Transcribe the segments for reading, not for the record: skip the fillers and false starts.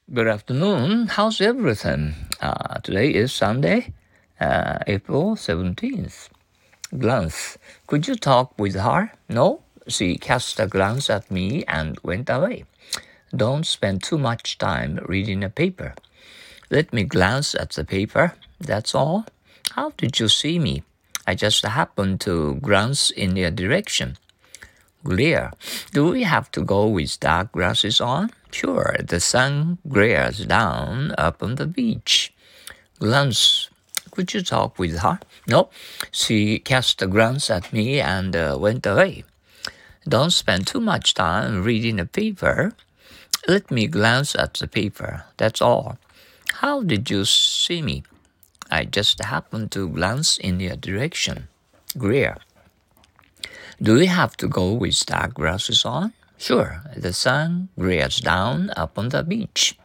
Good afternoon. How's everything? Today is Sunday, April 17th. Glance. Could you talk with her? No? She cast a glance at me and went away. Don't spend too much time reading a paper. Let me glance at the paper. That's all. How did you see me? I just happened to glance in your direction. Glare. Do we have to go with dark glasses on? Sure, the sun glares down upon the beach. Glance. Could you talk with her? No. She cast a glance at me and went away. Don't spend too much time reading the paper. Let me glance at the paper. That's all. How did you see me? I just happened to glance in your direction. Glare. Do we have to go with dark glasses on? Sure, the sun glares down upon the beach.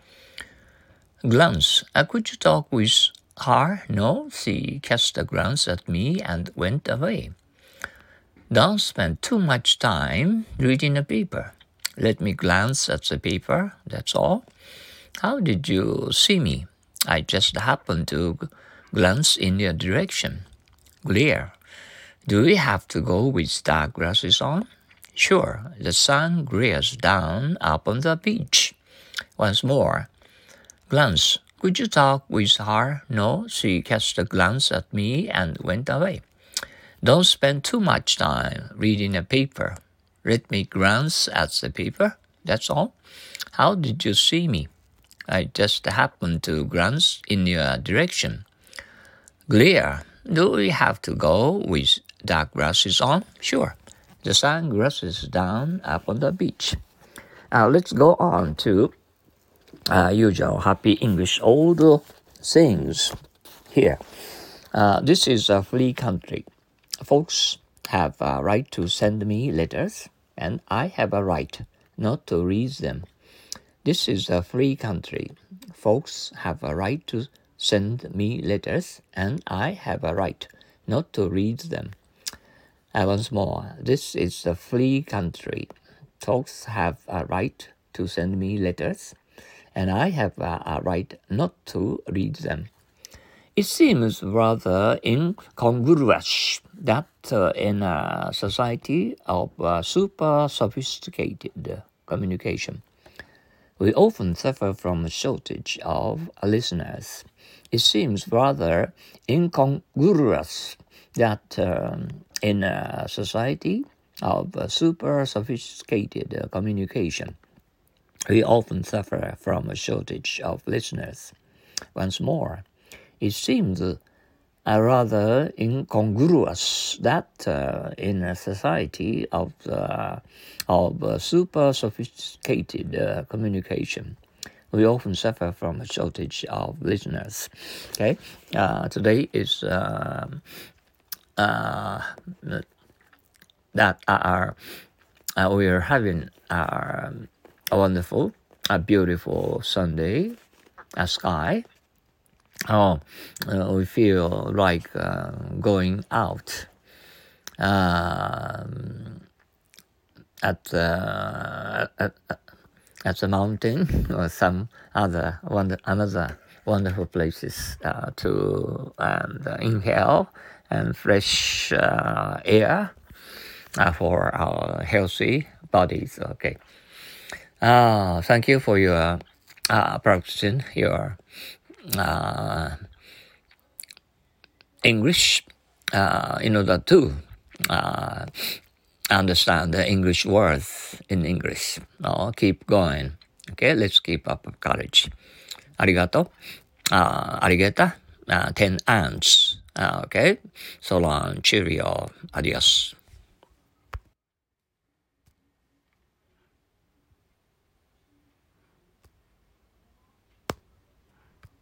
Glance. Could you talk with her? No, she cast a glance at me and went away. Don't spend too much time reading a paper. Let me glance at the paper, that's all. How did you see me? I just happened to glance in your direction. Glare. Do we have to go with dark glasses on? Sure, the sun glares down upon the beach. Once more. Glance. Could you talk with her? No, she cast a glance at me and went away. Don't spend too much time reading a paper. Let me glance at the paper, that's all. How did you see me? I just happened to glance in your direction. Glare. Do we have to go with dark glasses on? Sure. The sun glasses down upon the beach. Let's go on to usual happy English old sayings here. This is a free country. Folks have a right to send me letters, and I have a right not to read them. This is a free country. Folks have a right to send me letters, and I have a right not to read them. Once more, this is a free country. Folks have a right to send me letters, and I have a right not to read them. It seems rather incongruous that in a society of super sophisticated communication, we often suffer from a shortage of listeners. It seems rather incongruous that in a society of super sophisticated communication, we often suffer from a shortage of listeners. Once more, it seems rather incongruous that in a society of super sophisticated communication, we often suffer from a shortage of listeners. Okay, today is we are having a wonderful, beautiful Sunday sky. We feel like going out at the mountain or some other another wonderful places to inhale and fresh air for our healthy bodies. Okay. Thank you for your practicing your English in order to understand the English words in English. Keep going. Okay, let's keep up courage. ありがとう。ありがた。10 ants. Okay, so long. Cheerio. Adios.